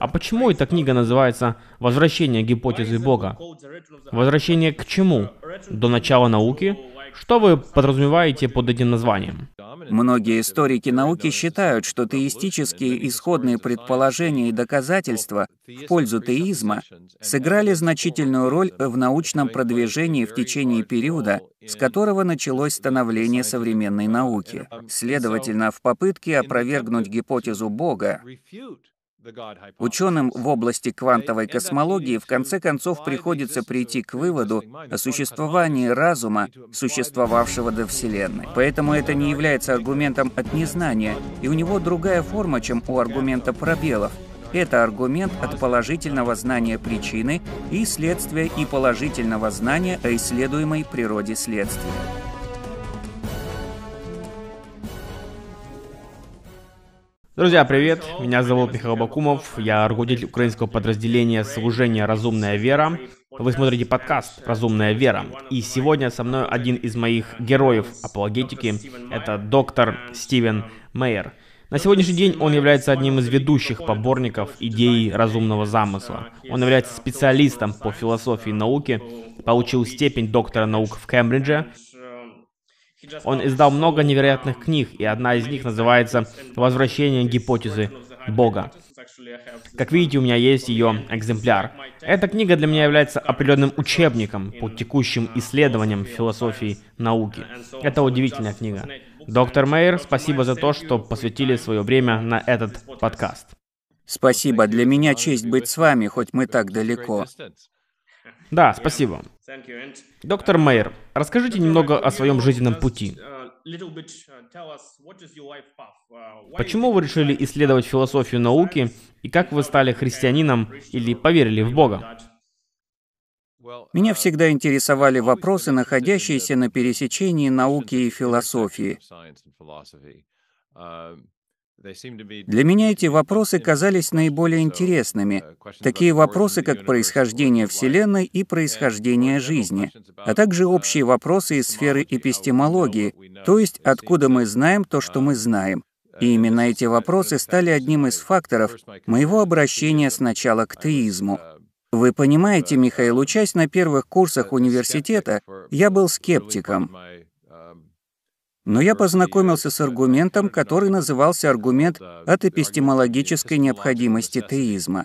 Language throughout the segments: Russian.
А почему эта книга называется «Возвращение гипотезы Бога»? Возвращение к чему? До начала науки? Что вы подразумеваете под этим названием? Многие историки науки считают, что теистические исходные предположения и доказательства в пользу теизма сыграли значительную роль в научном продвижении в течение периода, с которого началось становление современной науки. Следовательно, в попытке опровергнуть гипотезу Бога, ученым в области квантовой космологии в конце концов приходится прийти к выводу о существовании разума, существовавшего до Вселенной. Поэтому это не является аргументом от незнания, и у него другая форма, чем у аргумента пробелов. Это аргумент от положительного знания причины и следствия и положительного знания о исследуемой природе следствия. Друзья, привет! Меня зовут Михаил Бакумов, я руководитель украинского подразделения служения «Разумная вера». Вы смотрите подкаст «Разумная вера». И сегодня со мной один из моих героев апологетики. Это доктор Стивен Мейер. На сегодняшний день он является одним из ведущих поборников идеи разумного замысла. Он является специалистом по философии науки, получил степень доктора наук в Кембридже. Он издал много невероятных книг, и одна из них называется «Возвращение гипотезы Бога». Как видите, у меня есть ее экземпляр. Эта книга для меня является определенным учебником по текущим исследованиям философии науки. Это удивительная книга. Доктор Мейер, спасибо за то, что посвятили свое время на этот подкаст. Спасибо, для меня честь быть с вами, хоть мы так далеко. Да, спасибо. Доктор Мейер, расскажите немного о своем жизненном пути. Почему вы решили исследовать философию науки, и как вы стали христианином или поверили в Бога? Меня всегда интересовали вопросы, находящиеся на пересечении науки и философии. Для меня эти вопросы казались наиболее интересными. Такие вопросы, как происхождение Вселенной и происхождение жизни, а также общие вопросы из сферы эпистемологии, то есть откуда мы знаем то, что мы знаем. И именно эти вопросы стали одним из факторов моего обращения сначала к теизму. Вы понимаете, Михаил, учась на первых курсах университета, я был скептиком. Но я познакомился с аргументом, который назывался аргумент от эпистемологической необходимости теизма.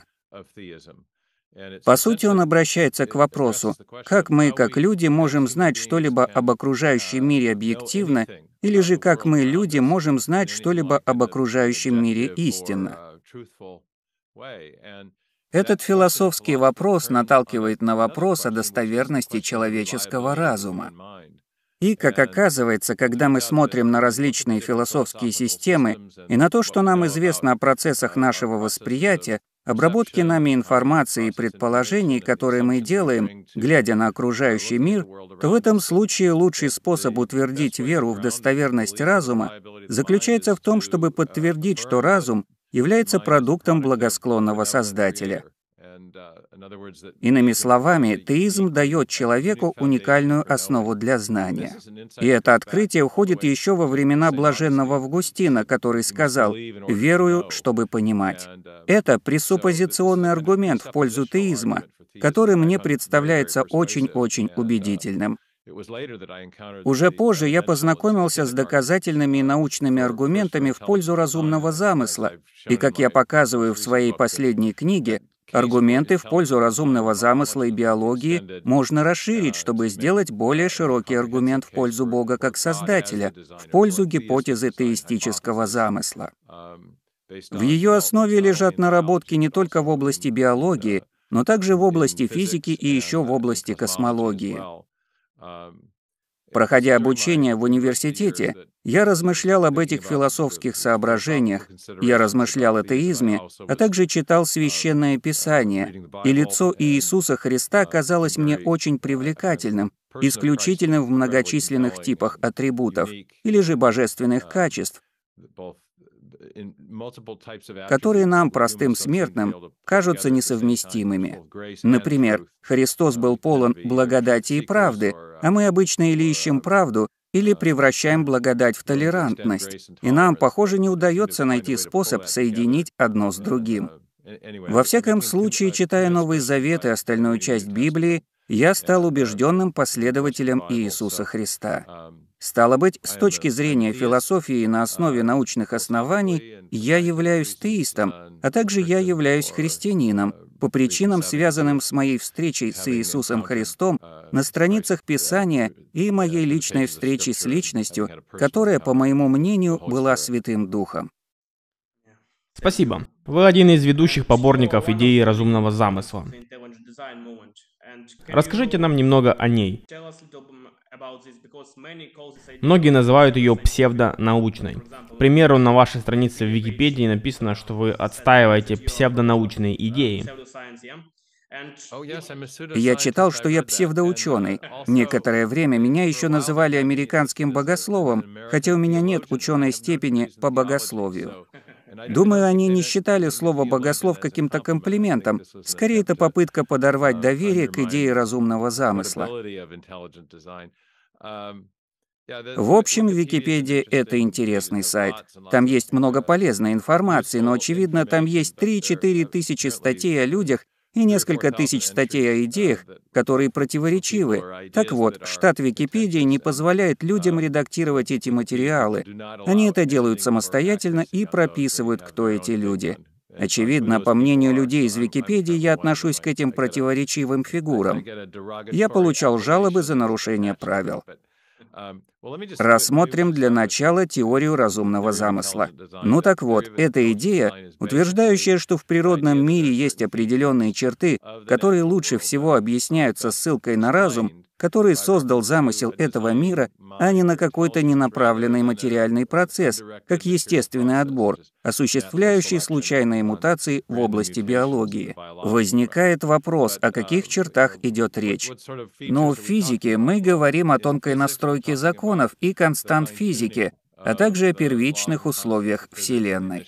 По сути, он обращается к вопросу, как мы, как люди, можем знать что-либо об окружающем мире объективно, или же как мы, люди, можем знать что-либо об окружающем мире истинно. Этот философский вопрос наталкивает на вопрос о достоверности человеческого разума. И, как оказывается, когда мы смотрим на различные философские системы и на то, что нам известно о процессах нашего восприятия, обработке нами информации и предположений, которые мы делаем, глядя на окружающий мир, то в этом случае лучший способ утвердить веру в достоверность разума заключается в том, чтобы подтвердить, что разум является продуктом благосклонного Создателя. Иными словами, теизм дает человеку уникальную основу для знания. И это открытие уходит еще во времена блаженного Августина, который сказал «верую, чтобы понимать». Это пресуппозиционный аргумент в пользу теизма, который мне представляется очень-очень убедительным. Уже позже я познакомился с доказательными и научными аргументами в пользу разумного замысла, и, как я показываю в своей последней книге, аргументы в пользу разумного замысла и биологии можно расширить, чтобы сделать более широкий аргумент в пользу Бога как Создателя, в пользу гипотезы теистического замысла. В ее основе лежат наработки не только в области биологии, но также в области физики и еще в области космологии. Проходя обучение в университете, я размышлял об этих философских соображениях, я размышлял о теизме, а также читал Священное Писание, и лицо Иисуса Христа казалось мне очень привлекательным, исключительным в многочисленных типах атрибутов, или же божественных качеств, которые нам, простым смертным, кажутся несовместимыми. Например, Христос был полон благодати и правды, а мы обычно или ищем правду, или превращаем благодать в толерантность, и нам, похоже, не удается найти способ соединить одно с другим. Во всяком случае, читая Новый Завет и остальную часть Библии, я стал убежденным последователем Иисуса Христа. Стало быть, с точки зрения философии на основе научных оснований, я являюсь теистом, а также я являюсь христианином, по причинам, связанным с моей встречей с Иисусом Христом на страницах Писания и моей личной встречей с личностью, которая, по моему мнению, была Святым Духом. Спасибо. Вы один из ведущих поборников идеи разумного замысла. Расскажите нам немного о ней. Многие называют ее псевдонаучной. К примеру, на вашей странице в Википедии написано, что вы отстаиваете псевдонаучные идеи. Я читал, что я псевдоученый. Некоторое время меня еще называли американским богословом, хотя у меня нет ученой степени по богословию. Думаю, они не считали слово «богослов» каким-то комплиментом. Скорее, это попытка подорвать доверие к идее разумного замысла. В общем, Википедия — это интересный сайт. Там есть много полезной информации, но, очевидно, там есть 3-4 тысячи статей о людях и несколько тысяч статей о идеях, которые противоречивы. Так вот, штат Википедии не позволяет людям редактировать эти материалы. Они это делают самостоятельно и прописывают, кто эти люди. Очевидно, по мнению людей из Википедии, я отношусь к этим противоречивым фигурам. Я получал жалобы за нарушение правил. Рассмотрим для начала теорию разумного замысла. Ну так вот, эта идея, утверждающая, что в природном мире есть определенные черты, которые лучше всего объясняются ссылкой на разум, который создал замысел этого мира, а не на какой-то ненаправленный материальный процесс, как естественный отбор, осуществляющий случайные мутации в области биологии. Возникает вопрос, о каких чертах идет речь. Но в физике мы говорим о тонкой настройке законов и констант физики, а также о первичных условиях Вселенной.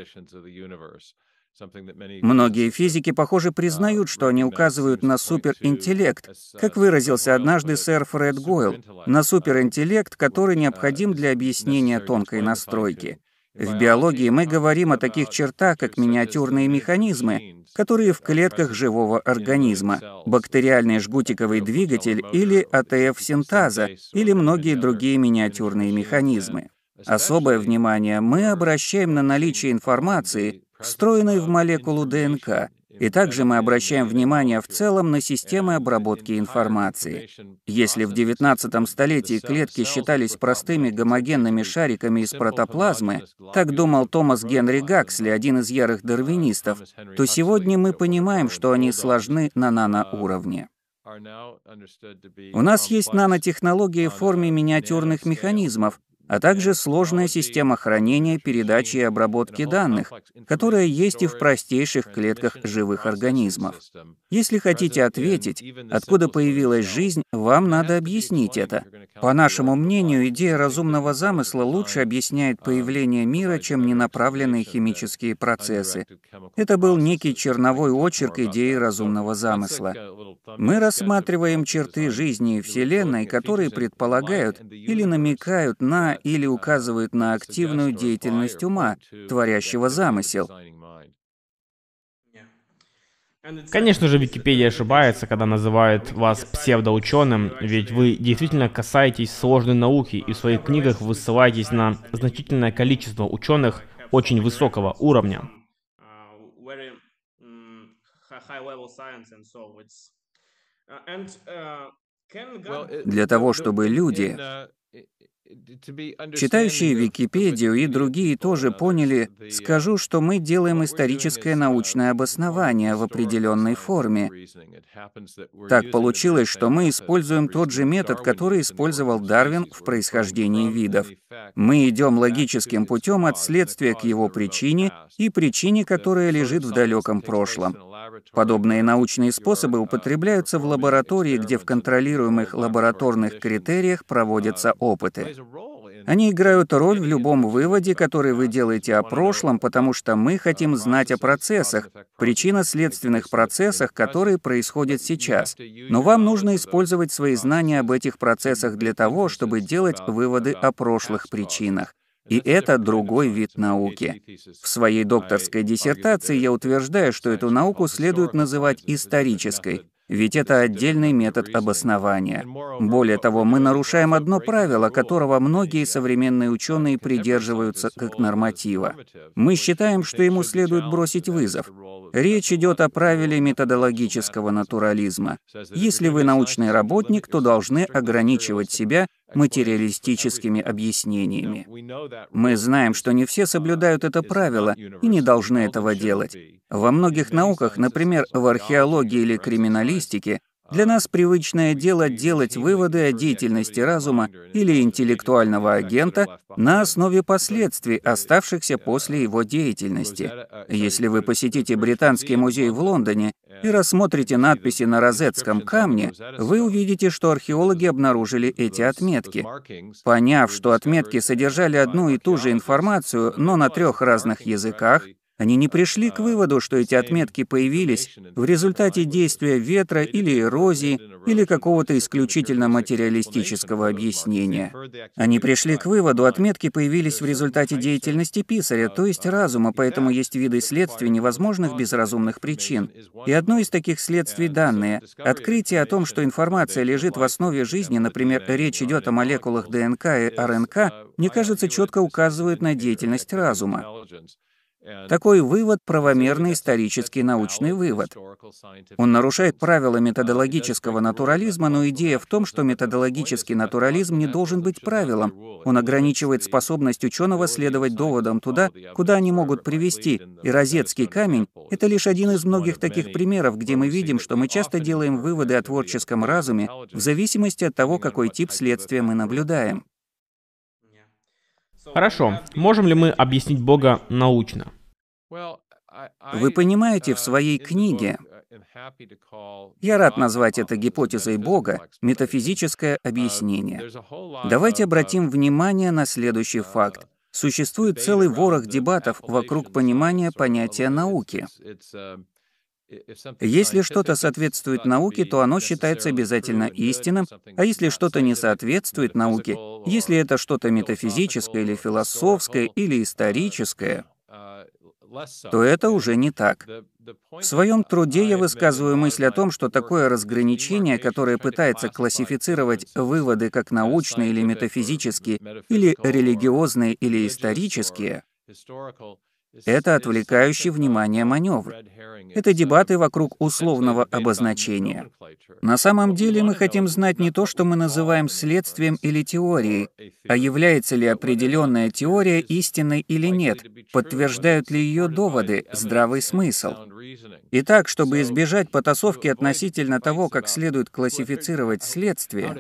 Многие физики, похоже, признают, что они указывают на суперинтеллект, как выразился однажды сэр Фред Гойл, на суперинтеллект, который необходим для объяснения тонкой настройки. В биологии мы говорим о таких чертах, как миниатюрные механизмы, которые в клетках живого организма, бактериальный жгутиковый двигатель или АТФ синтаза, или многие другие миниатюрные механизмы. Особое внимание мы обращаем на наличие информации, встроенной в молекулу ДНК, и также мы обращаем внимание в целом на системы обработки информации. Если в XIX столетии клетки считались простыми гомогенными шариками из протоплазмы, так думал Томас Генри Гаксли, один из ярых дарвинистов, то сегодня мы понимаем, что они сложны на наноуровне. У нас есть нанотехнологии в форме миниатюрных механизмов, а также сложная система хранения, передачи и обработки данных, которая есть и в простейших клетках живых организмов. Если хотите ответить, откуда появилась жизнь, вам надо объяснить это. По нашему мнению, идея разумного замысла лучше объясняет появление мира, чем ненаправленные химические процессы. Это был некий черновой очерк идеи разумного замысла. Мы рассматриваем черты жизни и Вселенной, которые предполагают или намекают на или указывают на активную деятельность ума, творящего замысел. Конечно же, Википедия ошибается, когда называет вас псевдоученым, ведь вы действительно касаетесь сложной науки и в своих книгах вы ссылаетесь на значительное количество ученых очень высокого уровня. Для того, чтобы люди, читающие Википедию и другие тоже поняли, скажу, что мы делаем историческое научное обоснование в определенной форме. Так получилось, что мы используем тот же метод, который использовал Дарвин в происхождении видов. Мы идем логическим путем от следствия к его причине и причине, которая лежит в далеком прошлом. Подобные научные способы употребляются в лаборатории, где в контролируемых лабораторных критериях проводятся опыты. Они играют роль в любом выводе, который вы делаете о прошлом, потому что мы хотим знать о процессах, причинно-следственных процессах, которые происходят сейчас. Но вам нужно использовать свои знания об этих процессах для того, чтобы делать выводы о прошлых причинах. И это другой вид науки. В своей докторской диссертации я утверждаю, что эту науку следует называть исторической, ведь это отдельный метод обоснования. Более того, мы нарушаем одно правило, которого многие современные ученые придерживаются как норматива. Мы считаем, что ему следует бросить вызов. Речь идет о правиле методологического натурализма. Если вы научный работник, то должны ограничивать себя материалистическими объяснениями. Мы знаем, что не все соблюдают это правило и не должны этого делать. Во многих науках, например, в археологии или криминалистике, для нас привычное дело делать выводы о деятельности разума или интеллектуального агента на основе последствий, оставшихся после его деятельности. Если вы посетите Британский музей в Лондоне и рассмотрите надписи на Розетском камне, вы увидите, что археологи обнаружили эти отметки. Поняв, что отметки содержали одну и ту же информацию, но на 3 разных языках, они не пришли к выводу, что эти отметки появились в результате действия ветра или эрозии, или какого-то исключительно материалистического объяснения. Они пришли к выводу, отметки появились в результате деятельности писаря, то есть разума, поэтому есть виды следствий, невозможных без разумных причин. И одно из таких следствий — данные. Открытие о том, что информация лежит в основе жизни, например, речь идет о молекулах ДНК и РНК, мне кажется, четко указывает на деятельность разума. Такой вывод — правомерный исторический научный вывод. Он нарушает правила методологического натурализма, но идея в том, что методологический натурализм не должен быть правилом. Он ограничивает способность ученого следовать доводам туда, куда они могут привести, и Розетский камень — это лишь один из многих таких примеров, где мы видим, что мы часто делаем выводы о творческом разуме в зависимости от того, какой тип следствия мы наблюдаем. Хорошо. Можем ли мы объяснить Бога научно? Вы понимаете, в своей книге, я рад назвать это гипотезой Бога, метафизическое объяснение. Давайте обратим внимание на следующий факт. Существует целый ворох дебатов вокруг понимания понятия науки. Если что-то соответствует науке, то оно считается обязательно истинным, а если что-то не соответствует науке, если это что-то метафизическое или философское или историческое, то это уже не так. В своем труде я высказываю мысль о том, что такое разграничение, которое пытается классифицировать выводы как научные или метафизические, или религиозные или исторические, это отвлекающий внимание маневр. Это дебаты вокруг условного обозначения. На самом деле мы хотим знать не то, что мы называем следствием или теорией, а является ли определенная теория истинной или нет, подтверждают ли ее доводы, здравый смысл. Итак, чтобы избежать потасовки относительно того, как следует классифицировать следствие,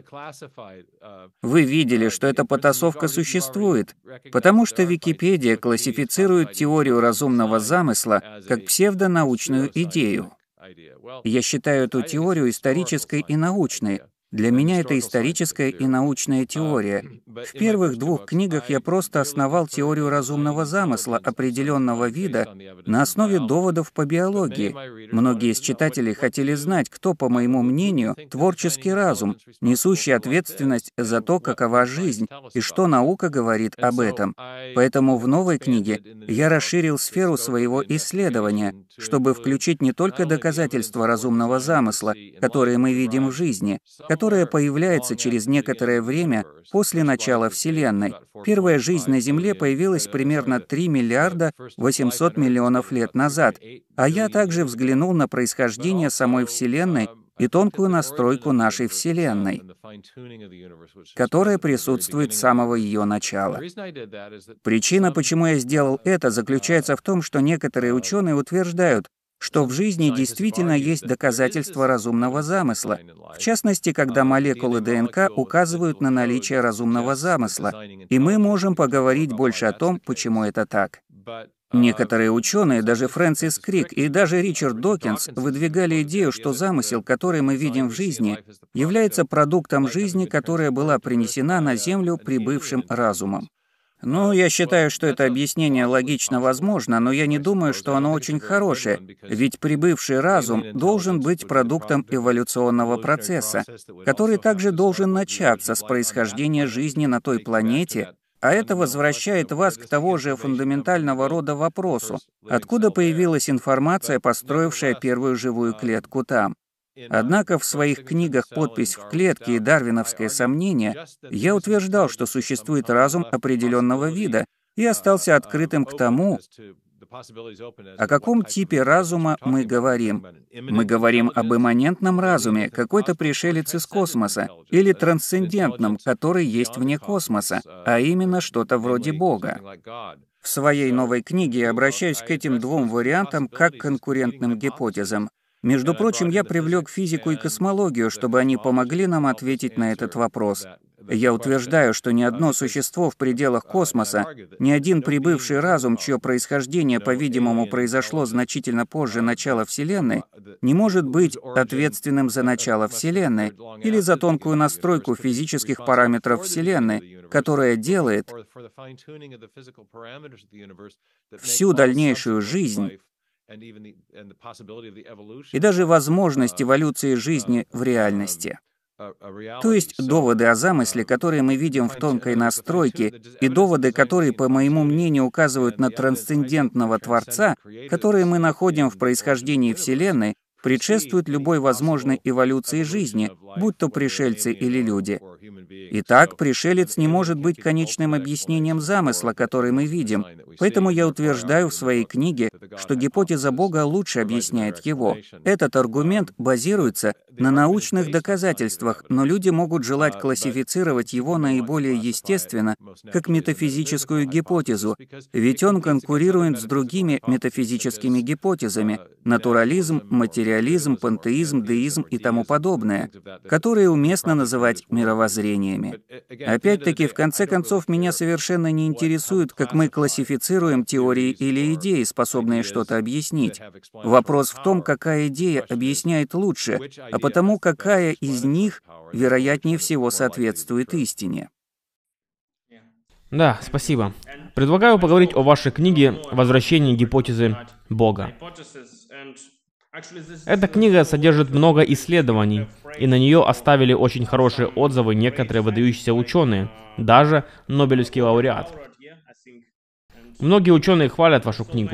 вы видели, что эта потасовка существует, потому что Википедия классифицирует теорию разумного замысла как псевдонаучную идею. Я считаю эту теорию исторической и научной. Для меня это историческая и научная теория. В первых 2 книгах я просто основал теорию разумного замысла определенного вида на основе доводов по биологии. Многие из читателей хотели знать, кто, по моему мнению, творческий разум, несущий ответственность за то, какова жизнь, и что наука говорит об этом. Поэтому в новой книге я расширил сферу своего исследования, чтобы включить не только доказательства разумного замысла, которые мы видим в жизни, которая появляется через некоторое время после начала Вселенной. Первая жизнь на Земле появилась примерно 3 миллиарда 800 миллионов лет назад, а я также взглянул на происхождение самой Вселенной и тонкую настройку нашей Вселенной, которая присутствует с самого ее начала. Причина, почему я сделал это, заключается в том, что некоторые ученые утверждают, что в жизни действительно есть доказательства разумного замысла, в частности, когда молекулы ДНК указывают на наличие разумного замысла, и мы можем поговорить больше о том, почему это так. Некоторые ученые, даже Фрэнсис Крик и даже Ричард Докинс, выдвигали идею, что замысел, который мы видим в жизни, является продуктом жизни, которая была принесена на Землю прибывшим разумом. Я считаю, что это объяснение логично возможно, но я не думаю, что оно очень хорошее, ведь прибывший разум должен быть продуктом эволюционного процесса, который также должен начаться с происхождения жизни на той планете, А это возвращает вас к того же фундаментального рода вопросу, откуда появилась информация, построившая первую живую клетку там. Однако в своих книгах «Подпись в клетке» и «Дарвиновское сомнение» я утверждал, что существует разум определенного вида, и остался открытым к тому, о каком типе разума мы говорим. Мы говорим об имманентном разуме, какой-то пришелец из космоса, или трансцендентном, который есть вне космоса, а именно что-то вроде Бога. В своей новой книге я обращаюсь к этим двум вариантам как к конкурентным гипотезам. Между прочим, я привлек физику и космологию, чтобы они помогли нам ответить на этот вопрос. Я утверждаю, что ни одно существо в пределах космоса, ни один прибывший разум, чье происхождение, по-видимому, произошло значительно позже начала Вселенной, не может быть ответственным за начало Вселенной или за тонкую настройку физических параметров Вселенной, которая делает всю дальнейшую жизнь и даже возможность эволюции жизни в реальности. То есть доводы о замысле, которые мы видим в тонкой настройке, и доводы, которые, по моему мнению, указывают на трансцендентного Творца, которые мы находим в происхождении Вселенной, предшествуют любой возможной эволюции жизни, будь то пришельцы или люди. Итак, пришелец не может быть конечным объяснением замысла, который мы видим, поэтому я утверждаю в своей книге, что гипотеза Бога лучше объясняет его. Этот аргумент базируется на научных доказательствах, но люди могут желать классифицировать его наиболее естественно, как метафизическую гипотезу, ведь он конкурирует с другими метафизическими гипотезами — натурализм, материализм, пантеизм, деизм и тому подобное, которые уместно называть мировоззрениями. Опять-таки, в конце концов, меня совершенно не интересует, как мы классифицируем теории или идеи, способные что-то объяснить. Вопрос в том, какая идея объясняет лучше, а потому какая из них, вероятнее всего, соответствует истине. Да, спасибо. Предлагаю поговорить о вашей книге «Возвращение гипотезы Бога». Эта книга содержит много исследований, и на нее оставили очень хорошие отзывы некоторые выдающиеся ученые, даже Нобелевский лауреат. Многие ученые хвалят вашу книгу.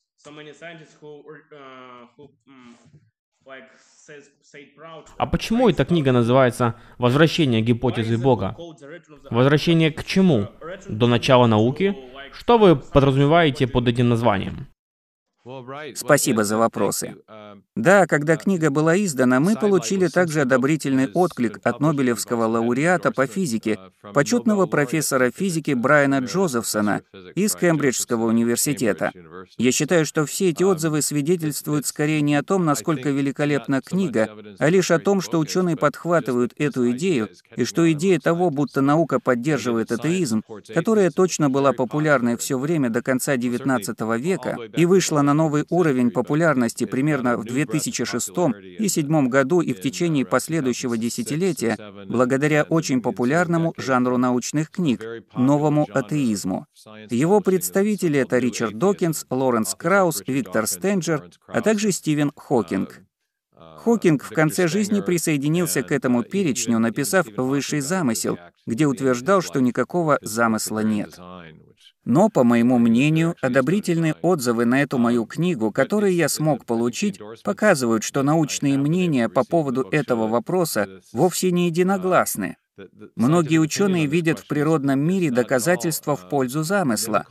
А почему эта книга называется «Возвращение гипотезы Бога»? Возвращение к чему? До начала науки? Что вы подразумеваете под этим названием? Спасибо за вопросы. Да, когда книга была издана, мы получили также одобрительный отклик от Нобелевского лауреата по физике, почетного профессора физики Брайана Джозефсона из Кембриджского университета. Я считаю, что все эти отзывы свидетельствуют скорее не о том, насколько великолепна книга, а лишь о том, что ученые подхватывают эту идею, и что идея того, будто наука поддерживает атеизм, которая точно была популярной все время до конца XIX века и вышла на новый уровень популярности примерно в 2006 и 2007 году и в течение последующего десятилетия, благодаря очень популярному жанру научных книг — новому атеизму. Его представители — это Ричард Докинс, Лоренс Краус, Виктор Стенджер, а также Стивен Хокинг. Хокинг в конце жизни присоединился к этому перечню, написав «Высший замысел», где утверждал, что никакого замысла нет. Но, по моему мнению, одобрительные отзывы на эту мою книгу, которые я смог получить, показывают, что научные мнения по поводу этого вопроса вовсе не единогласны. Многие ученые видят в природном мире доказательства в пользу замысла,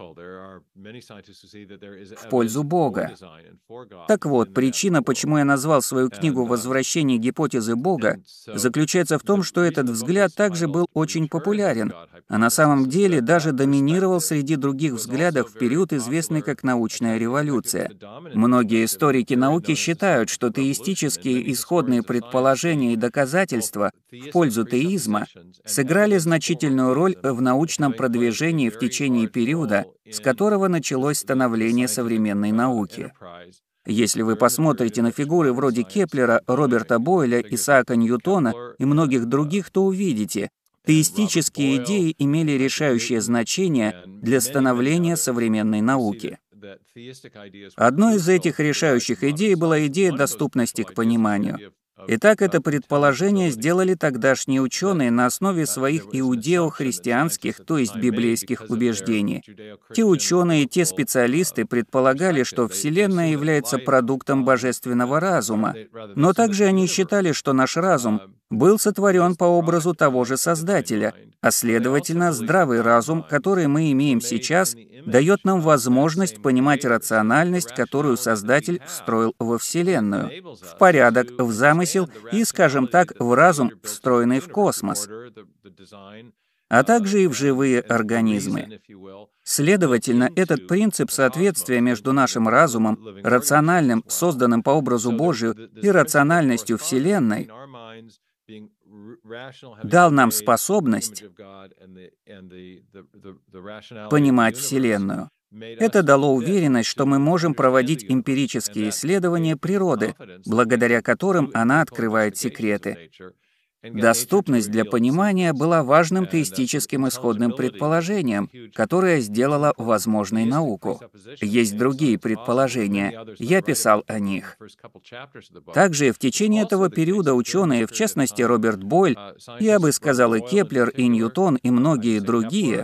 в пользу Бога. Так вот, причина, почему я назвал свою книгу «Возвращение гипотезы Бога», заключается в том, что этот взгляд также был очень популярен, а на самом деле даже доминировал среди других взглядов в период, известный как научная революция. Многие историки науки считают, что теистические исходные предположения и доказательства в пользу теизма сыграли значительную роль в научном продвижении в течение периода, с которого началось становление современной науки. Если вы посмотрите на фигуры вроде Кеплера, Роберта Бойля, Исаака Ньютона и многих других, то увидите, теистические идеи имели решающее значение для становления современной науки. Одной из этих решающих идей была идея доступности к пониманию. Итак, это предположение сделали тогдашние ученые на основе своих иудео-христианских, то есть библейских убеждений. Те ученые, те специалисты предполагали, что Вселенная является продуктом божественного разума, но также они считали, что наш разум был сотворен по образу того же Создателя, а следовательно, здравый разум, который мы имеем сейчас, дает нам возможность понимать рациональность, которую Создатель встроил во Вселенную, в порядок, в замысел и, скажем так, в разум, встроенный в космос, а также и в живые организмы. Следовательно, этот принцип соответствия между нашим разумом, рациональным, созданным по образу Божию, и рациональностью Вселенной дал нам способность понимать Вселенную. Это дало уверенность, что мы можем проводить эмпирические исследования природы, благодаря которым она открывает секреты. Доступность для понимания была важным теистическим исходным предположением, которое сделало возможной науку. Есть другие предположения, я писал о них. Также в течение этого периода ученые, в частности Роберт Бойль, я бы сказал и Кеплер, и Ньютон, и многие другие,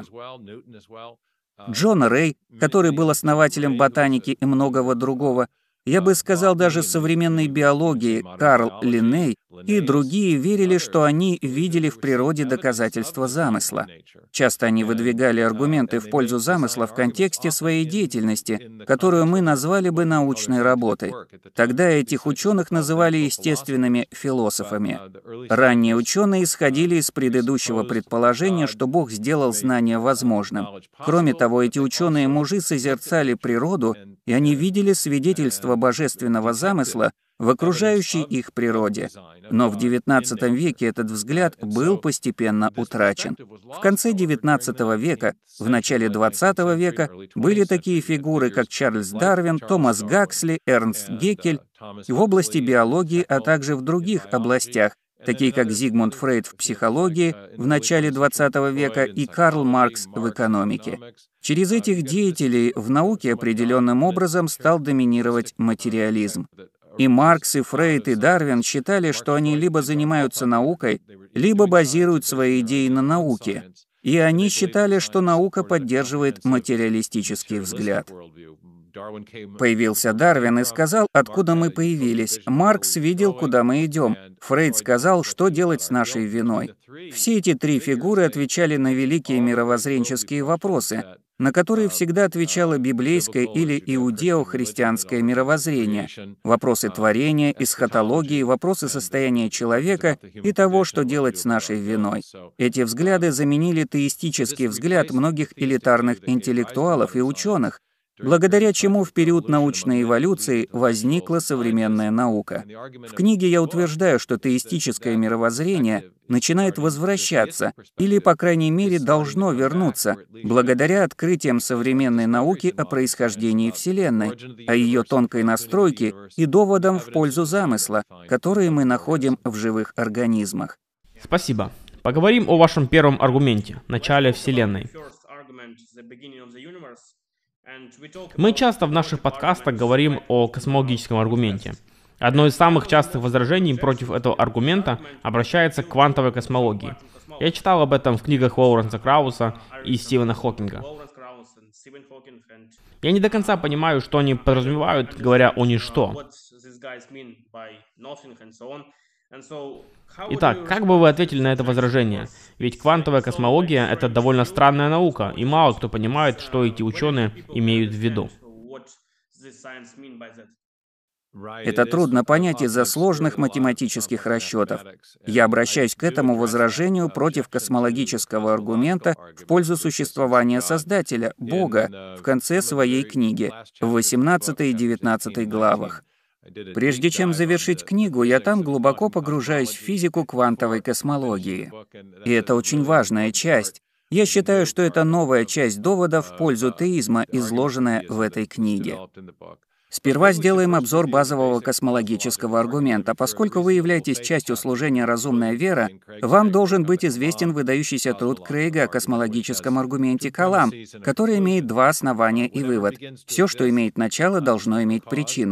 Джон Рэй, который был основателем ботаники и многого другого, я бы сказал, даже современной биологии, Карл Линней и другие верили, что они видели в природе доказательства замысла. Часто они выдвигали аргументы в пользу замысла в контексте своей деятельности, которую мы назвали бы научной работой. Тогда этих ученых называли естественными философами. Ранние ученые исходили из предыдущего предположения, что Бог сделал знание возможным. Кроме того, эти ученые-мужи созерцали природу, и они видели свидетельство божественного замысла в окружающей их природе. Но в XIX веке этот взгляд был постепенно утрачен. В конце XIX века, в начале XX века были такие фигуры, как Чарльз Дарвин, Томас Гаксли, Эрнст Геккель в области биологии, а также в других областях, такие как Зигмунд Фрейд в психологии в начале XX века и Карл Маркс в экономике. Через этих деятелей в науке определенным образом стал доминировать материализм. И Маркс, и Фрейд, и Дарвин считали, что они либо занимаются наукой, либо базируют свои идеи на науке. И они считали, что наука поддерживает материалистический взгляд. Появился Дарвин и сказал, откуда мы появились. Маркс видел, куда мы идем. Фрейд сказал, что делать с нашей виной. Все эти три фигуры отвечали на великие мировоззренческие вопросы, на которые всегда отвечало библейское или иудео-христианское мировоззрение, вопросы творения, эсхатологии, вопросы состояния человека и того, что делать с нашей виной. Эти взгляды заменили теистический взгляд многих элитарных интеллектуалов и ученых, благодаря чему в период научной эволюции возникла современная наука. В книге я утверждаю, что теистическое мировоззрение начинает возвращаться, или, по крайней мере, должно вернуться, благодаря открытиям современной науки о происхождении Вселенной, о ее тонкой настройке и доводам в пользу замысла, которые мы находим в живых организмах. Спасибо. Поговорим о вашем первом аргументе — начале Вселенной. Мы часто в наших подкастах говорим о космологическом аргументе. Одно из самых частых возражений против этого аргумента обращается к квантовой космологии. Я читал об этом в книгах Лоуренса Крауса и Стивена Хокинга. Я не до конца понимаю, что они подразумевают, говоря о ничто. Итак, как бы вы ответили на это возражение? Ведь квантовая космология — это довольно странная наука, и мало кто понимает, что эти ученые имеют в виду. Это трудно понять из-за сложных математических расчетов. Я обращаюсь к этому возражению против космологического аргумента в пользу существования Создателя, Бога, в конце своей книги, в 18 и 19 главах. Прежде чем завершить книгу, я там глубоко погружаюсь в физику квантовой космологии. И это очень важная часть. Я считаю, что это новая часть довода в пользу теизма, изложенная в этой книге. Сперва сделаем обзор базового космологического аргумента. Поскольку вы являетесь частью служения «Разумная вера», вам должен быть известен выдающийся труд Крейга о космологическом аргументе Калам, который имеет два основания и вывод. Все, что имеет начало, должно иметь причину.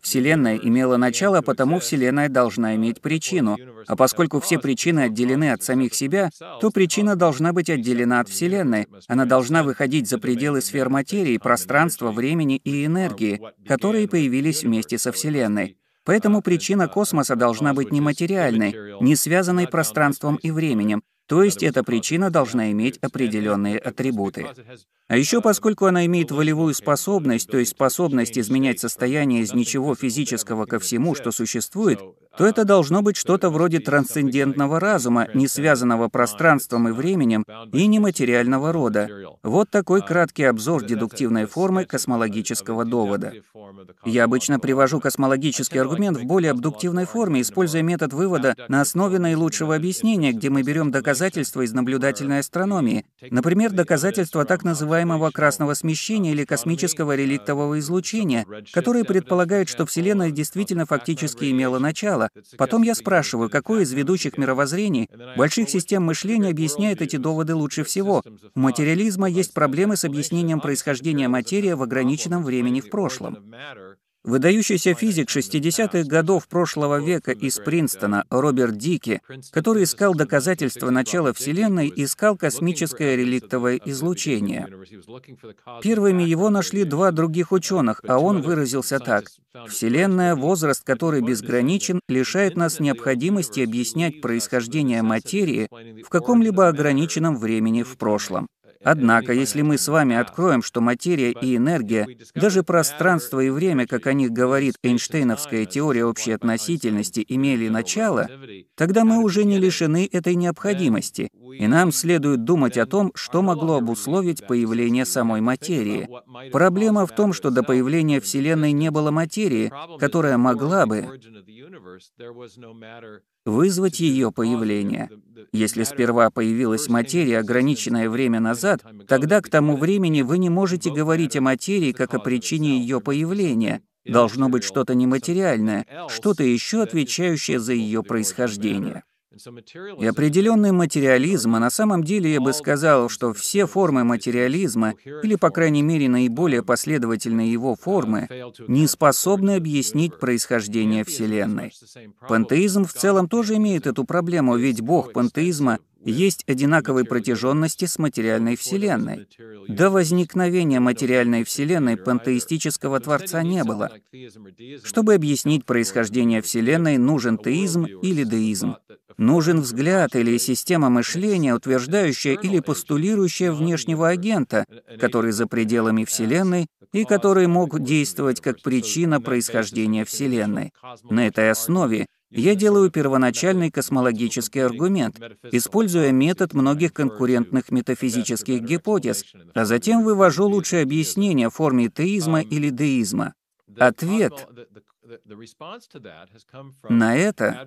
Вселенная имела начало, потому Вселенная должна иметь причину. А поскольку все причины отделены от самих себя, то причина должна быть отделена от Вселенной. Она должна выходить за пределы сфер материи, пространства, времени и энергии, которые появились вместе со Вселенной. Поэтому причина космоса должна быть нематериальной, не связанной пространством и временем, то есть эта причина должна иметь определенные атрибуты. А еще поскольку она имеет волевую способность, то есть способность изменять состояние из ничего физического ко всему, что существует, то это должно быть что-то вроде трансцендентного разума, не связанного пространством и временем, и нематериального рода. Вот такой краткий обзор дедуктивной формы космологического довода. Я обычно привожу космологический аргумент в более абдуктивной форме, используя метод вывода на основе наилучшего объяснения, где мы берем доказательства из наблюдательной астрономии, например, доказательства так называемого красного смещения или космического реликтового излучения, которые предполагают, что Вселенная действительно фактически имела начало. Потом я спрашиваю, какое из ведущих мировоззрений, больших систем мышления объясняет эти доводы лучше всего. У материализма есть проблемы с объяснением происхождения материи в ограниченном времени в прошлом. Выдающийся физик 60-х годов прошлого века из Принстона Роберт Дики, который искал доказательства начала Вселенной, искал космическое реликтовое излучение. Первыми его нашли два других ученых, а он выразился так: «Вселенная, возраст которой безграничен, лишает нас необходимости объяснять происхождение материи в каком-либо ограниченном времени в прошлом». Однако, если мы с вами откроем, что материя и энергия, даже пространство и время, как о них говорит Эйнштейновская теория общей относительности, имели начало, тогда мы уже не лишены этой необходимости, и нам следует думать о том, что могло обусловить появление самой материи. Проблема в том, что до появления Вселенной не было материи, которая могла бы вызвать ее появление. Если сперва появилась материя ограниченное время назад, тогда к тому времени вы не можете говорить о материи как о причине ее появления. Должно быть что-то нематериальное, что-то еще отвечающее за ее происхождение. И определенный материализм, а на самом деле я бы сказал, что все формы материализма, или, по крайней мере, наиболее последовательные его формы, не способны объяснить происхождение Вселенной. Пантеизм в целом тоже имеет эту проблему, ведь Бог пантеизма есть одинаковой протяженности с материальной Вселенной. До возникновения материальной Вселенной пантеистического Творца не было. Чтобы объяснить происхождение Вселенной, нужен теизм или деизм. Нужен взгляд или система мышления, утверждающая или постулирующая внешнего агента, который за пределами Вселенной и который мог действовать как причина происхождения Вселенной. На этой основе я делаю первоначальный космологический аргумент, используя метод многих конкурентных метафизических гипотез, а затем вывожу лучшее объяснение в форме теизма или деизма. Ответ на это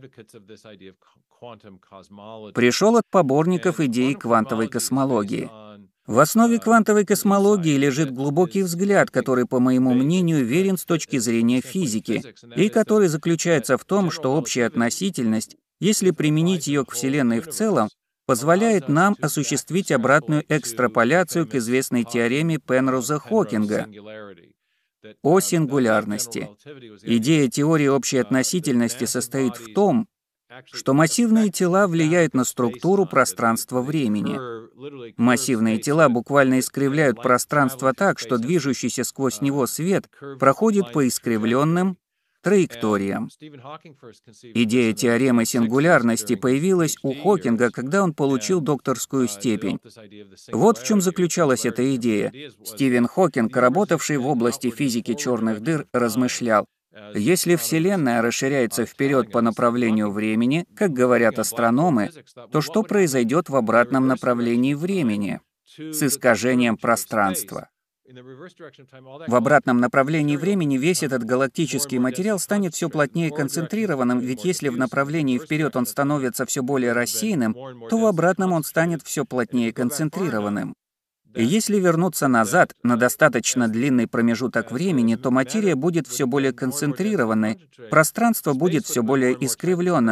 пришел от поборников идеи квантовой космологии. В основе квантовой космологии лежит глубокий взгляд, который, по моему мнению, верен с точки зрения физики, и который заключается в том, что общая относительность, если применить ее к Вселенной в целом, позволяет нам осуществить обратную экстраполяцию к известной теореме Пенроза-Хокинга о сингулярности. Идея теории общей относительности состоит в том, что массивные тела влияют на структуру пространства-времени. Массивные тела буквально искривляют пространство так, что движущийся сквозь него свет проходит по искривленным траекториям. Идея теоремы сингулярности появилась у Хокинга, когда он получил докторскую степень. Вот в чем заключалась эта идея. Стивен Хокинг, работавший в области физики черных дыр, размышлял: если Вселенная расширяется вперед по направлению времени, как говорят астрономы, то что произойдет в обратном направлении времени с искажением пространства? В обратном направлении времени весь этот галактический материал станет все плотнее концентрированным, ведь если в направлении вперед он становится все более рассеянным, то в обратном он станет все плотнее концентрированным. И если вернуться назад на достаточно длинный промежуток времени, то материя будет все более концентрированной, пространство будет все более искривленным,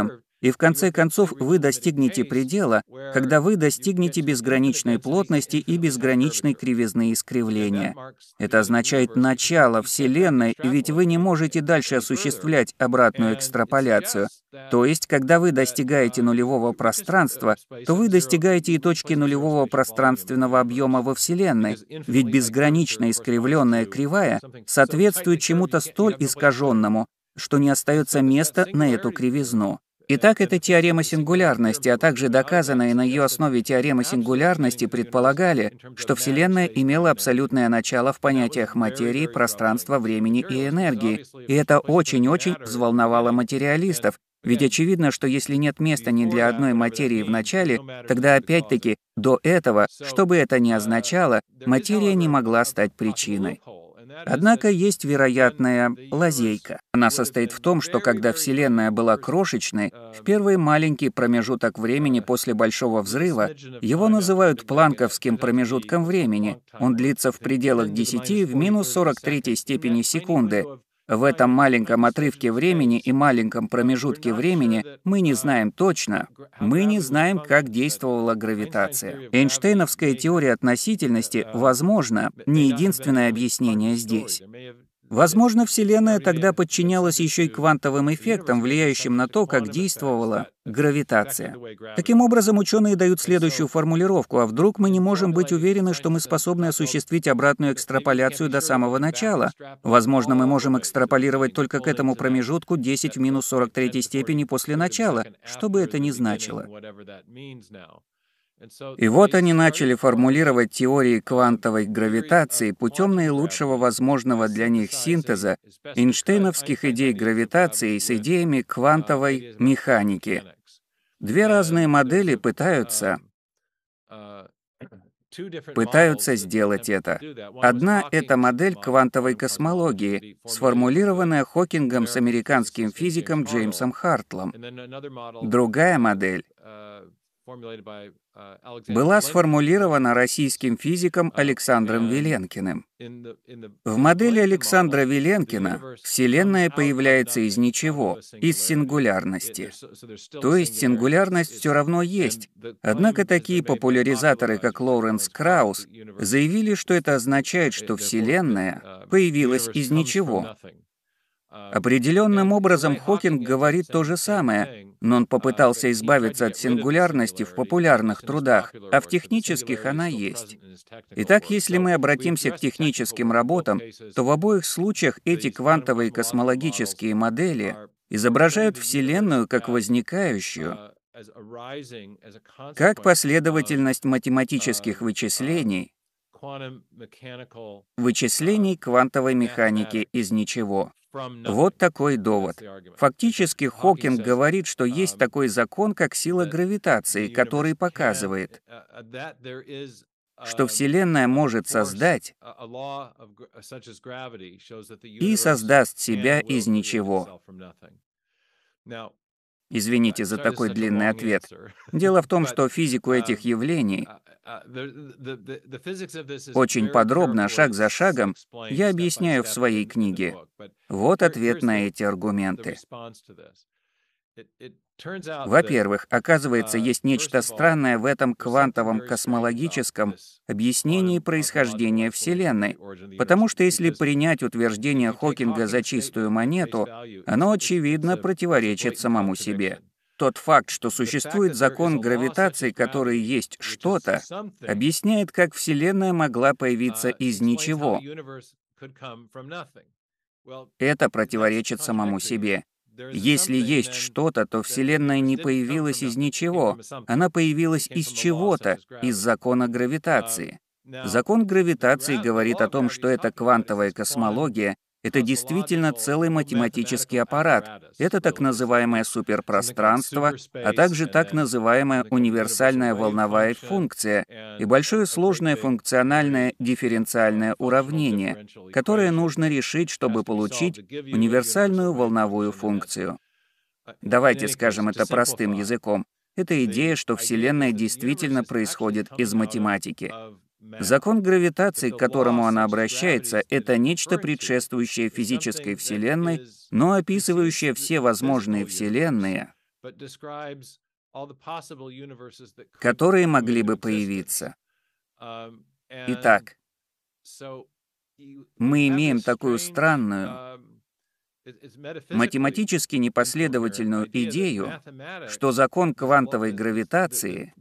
И в конце концов вы достигнете предела, когда вы достигнете безграничной плотности и безграничной кривизны искривления. Это означает начало Вселенной, ведь вы не можете дальше осуществлять обратную экстраполяцию. То есть, когда вы достигаете нулевого пространства, то вы достигаете и точки нулевого пространственного объема во Вселенной, ведь безгранично искривленная кривая соответствует чему-то столь искаженному, что не остается места на эту кривизну. Итак, это теорема сингулярности, а также доказанная на ее основе теорема сингулярности предполагали, что Вселенная имела абсолютное начало в понятиях материи, пространства, времени и энергии. И это очень-очень взволновало материалистов, ведь очевидно, что если нет места ни для одной материи в начале, тогда опять-таки до этого, что бы это ни означало, материя не могла стать причиной. Однако есть вероятная лазейка. Она состоит в том, что когда Вселенная была крошечной, в первый маленький промежуток времени после Большого взрыва, его называют планковским промежутком времени. Он длится в пределах 10 в минус 43 степени секунды. В этом маленьком отрывке времени и маленьком промежутке времени мы не знаем точно, мы не знаем, как действовала гравитация. Эйнштейновская теория относительности, возможно, не единственное объяснение здесь. Возможно, Вселенная тогда подчинялась еще и квантовым эффектам, влияющим на то, как действовала гравитация. Таким образом, ученые дают следующую формулировку: а вдруг мы не можем быть уверены, что мы способны осуществить обратную экстраполяцию до самого начала? Возможно, мы можем экстраполировать только к этому промежутку 10 в минус 43 степени после начала, что бы это ни значило. И вот они начали формулировать теории квантовой гравитации путем наилучшего возможного для них синтеза эйнштейновских идей гравитации с идеями квантовой механики. Две разные модели пытаются сделать это. Одна — это модель квантовой космологии, сформулированная Хокингом с американским физиком Джеймсом Хартлом. Другая модель была сформулирована российским физиком Александром Виленкиным. В модели Александра Виленкина Вселенная появляется из ничего, из сингулярности. То есть сингулярность все равно есть. Однако такие популяризаторы, как Лоуренс Краус, заявили, что это означает, что Вселенная появилась из ничего. Определенным образом Хокинг говорит то же самое, но он попытался избавиться от сингулярности в популярных трудах, а в технических она есть. Итак, если мы обратимся к техническим работам, то в обоих случаях эти квантовые космологические модели изображают Вселенную как возникающую, как последовательность математических вычислений квантовой механики из ничего. Вот такой довод. Фактически Хокинг говорит, что есть такой закон, как сила гравитации, который показывает, что Вселенная может создать и создаст себя из ничего. Извините за такой длинный ответ. Дело в том, что физику этих явлений очень подробно, шаг за шагом, я объясняю в своей книге. Вот ответ на эти аргументы. Во-первых, оказывается, есть нечто странное в этом квантовом космологическом объяснении происхождения Вселенной, потому что если принять утверждение Хокинга за чистую монету, оно, очевидно, противоречит самому себе. Тот факт, что существует закон гравитации, который есть что-то, объясняет, как Вселенная могла появиться из ничего. Это противоречит самому себе. Если есть что-то, то Вселенная не появилась из ничего. Она появилась из чего-то, из закона гравитации. Закон гравитации говорит о том, что эта квантовая космология — это действительно целый математический аппарат. Это так называемое суперпространство, а также так называемая универсальная волновая функция и большое сложное функциональное дифференциальное уравнение, которое нужно решить, чтобы получить универсальную волновую функцию. Давайте скажем это простым языком. Это идея, что Вселенная действительно происходит из математики. Закон гравитации, к которому она обращается, это нечто предшествующее физической Вселенной, но описывающее все возможные Вселенные которые могли бы появиться. Итак, мы имеем такую странную, математически непоследовательную идею, что закон квантовой гравитации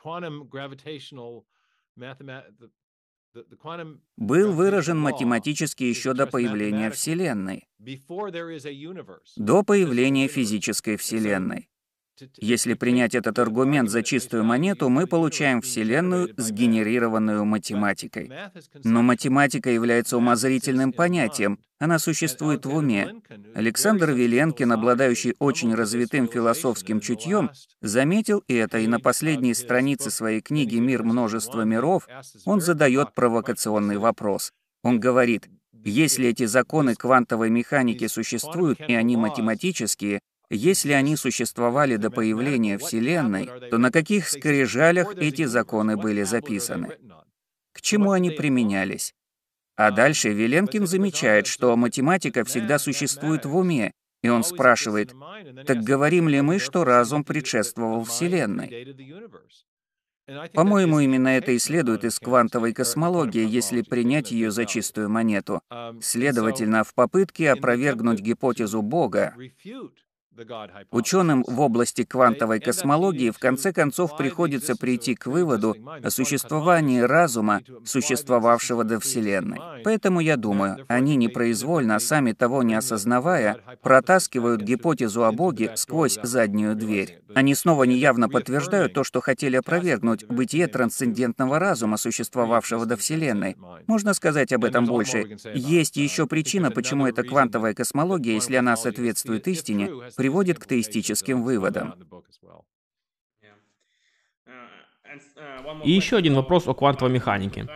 был выражен математически еще до появления Вселенной, до появления физической Вселенной. Если принять этот аргумент за чистую монету, мы получаем Вселенную, сгенерированную математикой. Но математика является умозрительным понятием, она существует в уме. Александр Виленкин, обладающий очень развитым философским чутьем, заметил это, и на последней странице своей книги «Мир множества миров» он задает провокационный вопрос. Он говорит: если эти законы квантовой механики существуют, и они математические, если они существовали до появления Вселенной, то на каких скрижалях эти законы были записаны? К чему они применялись? А дальше Виленкин замечает, что математика всегда существует в уме, и он спрашивает: так говорим ли мы, что разум предшествовал Вселенной? По-моему, именно это и следует из квантовой космологии, если принять ее за чистую монету. Следовательно, в попытке опровергнуть гипотезу Бога, ученым в области квантовой космологии в конце концов приходится прийти к выводу о существовании разума, существовавшего до Вселенной. Поэтому я думаю, они непроизвольно, сами того не осознавая, протаскивают гипотезу о Боге сквозь заднюю дверь. Они снова неявно подтверждают то, что хотели опровергнуть: бытие трансцендентного разума, существовавшего до Вселенной. Можно сказать об этом больше. Есть еще причина, почему эта квантовая космология, если она соответствует истине, приводит к теистическим выводам. И еще один вопрос о квантовой механике.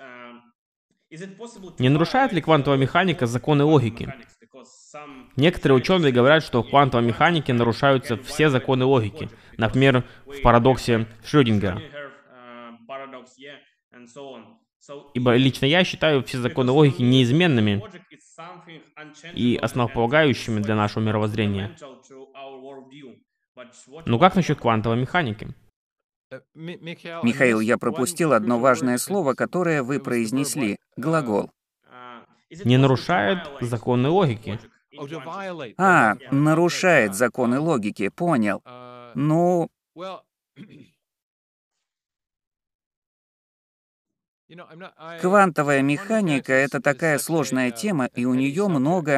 Не нарушает ли квантовая механика законы логики? Некоторые ученые говорят, что в квантовой механике нарушаются все законы логики, например, в парадоксе Шрёдингера. Ибо лично я считаю все законы логики неизменными и основополагающими для нашего мировоззрения. Но как насчет квантовой механики? Михаил, я пропустил одно важное слово, которое вы произнесли — глагол. Не нарушает законы логики. Нарушает законы логики, понял. Ну, квантовая механика — это такая сложная тема, и у нее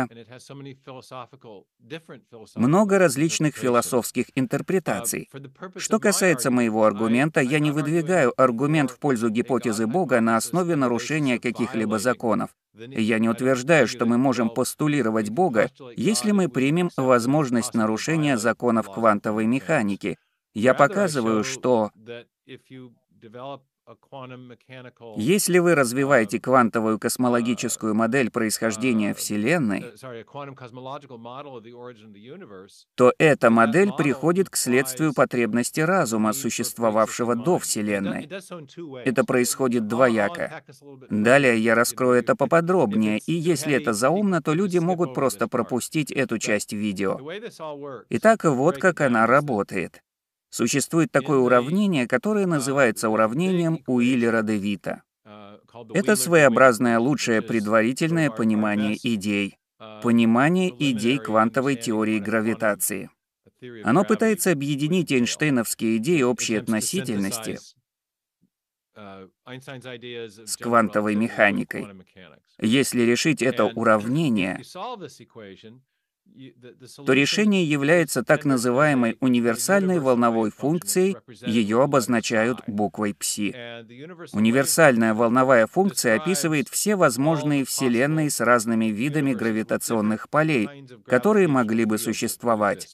много различных философских интерпретаций. Что касается моего аргумента, я не выдвигаю аргумент в пользу гипотезы Бога на основе нарушения каких-либо законов. Я не утверждаю, что мы можем постулировать Бога, если мы примем возможность нарушения законов квантовой механики. Я показываю, что если вы развиваете квантовую космологическую модель происхождения Вселенной, то эта модель приходит к следствию потребности разума, существовавшего до Вселенной. Это происходит двояко. Далее я раскрою это поподробнее, и если это заумно, то люди могут просто пропустить эту часть видео. Итак, вот как она работает. Существует такое уравнение, которое называется уравнением Уиллера-де-Вита. Это своеобразное лучшее предварительное понимание идей. Понимание идей квантовой теории гравитации. Оно пытается объединить эйнштейновские идеи общей относительности с квантовой механикой. Если решить это уравнение, то решение является так называемой универсальной волновой функцией, ее обозначают буквой ψ. Универсальная волновая функция описывает все возможные вселенные с разными видами гравитационных полей, которые могли бы существовать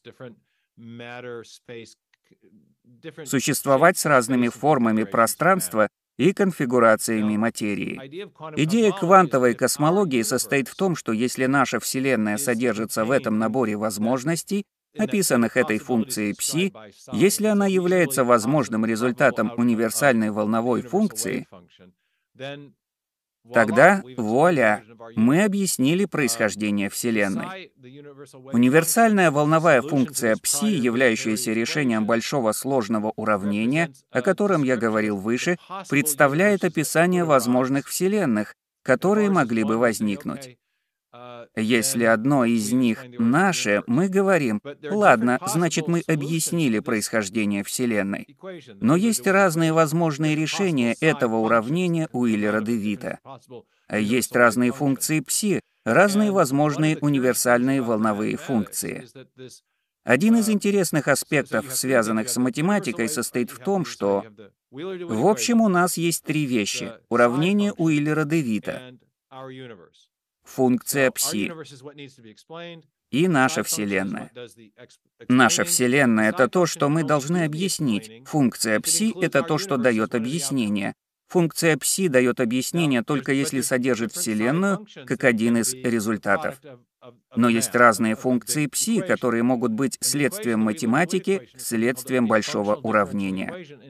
с разными формами пространства и конфигурациями материи. Идея квантовой космологии состоит в том, что если наша Вселенная содержится в этом наборе возможностей, описанных этой функцией ψ, если она является возможным результатом универсальной волновой функции, Тогда, вуаля, мы объяснили происхождение Вселенной. Универсальная волновая функция Пси, являющаяся решением большого сложного уравнения, о котором я говорил выше, представляет описание возможных вселенных, которые могли бы возникнуть. Если одно из них наше, мы говорим: ладно, значит, мы объяснили происхождение Вселенной. Но есть разные возможные решения этого уравнения Уиллера-де-Витта. Есть разные функции Пси, разные возможные универсальные волновые функции. Один из интересных аспектов, связанных с математикой, состоит в том, что, в общем, у нас есть три вещи: уравнение Уиллера-де-Витта, функция Пси и наша Вселенная. Наша Вселенная — это то, что мы должны объяснить. Функция Пси — это то, что дает объяснение. Функция Пси дает объяснение только если содержит Вселенную как один из результатов. Но есть разные функции Пси, которые могут быть следствием математики, следствием большого уравнения.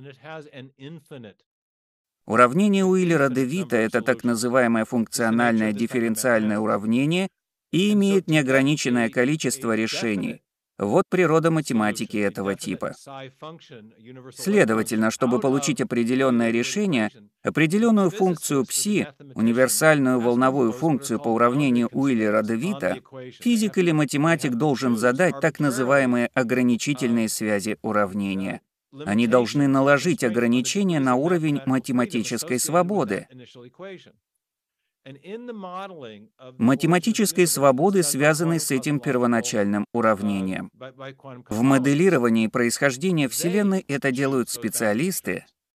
Уравнение Уиллера-де-Витта — это так называемое функциональное дифференциальное уравнение и имеет неограниченное количество решений. Вот природа математики этого типа. Следовательно, чтобы получить определенное решение, определенную функцию Пси, универсальную волновую функцию по уравнению Уиллера-де-Витта, физик или математик должен задать так называемые ограничительные связи уравнения. Они должны наложить ограничения на уровень математической свободы. Математической свободы, связанной с этим первоначальным уравнением. В моделировании происхождения Вселенной это делают специалисты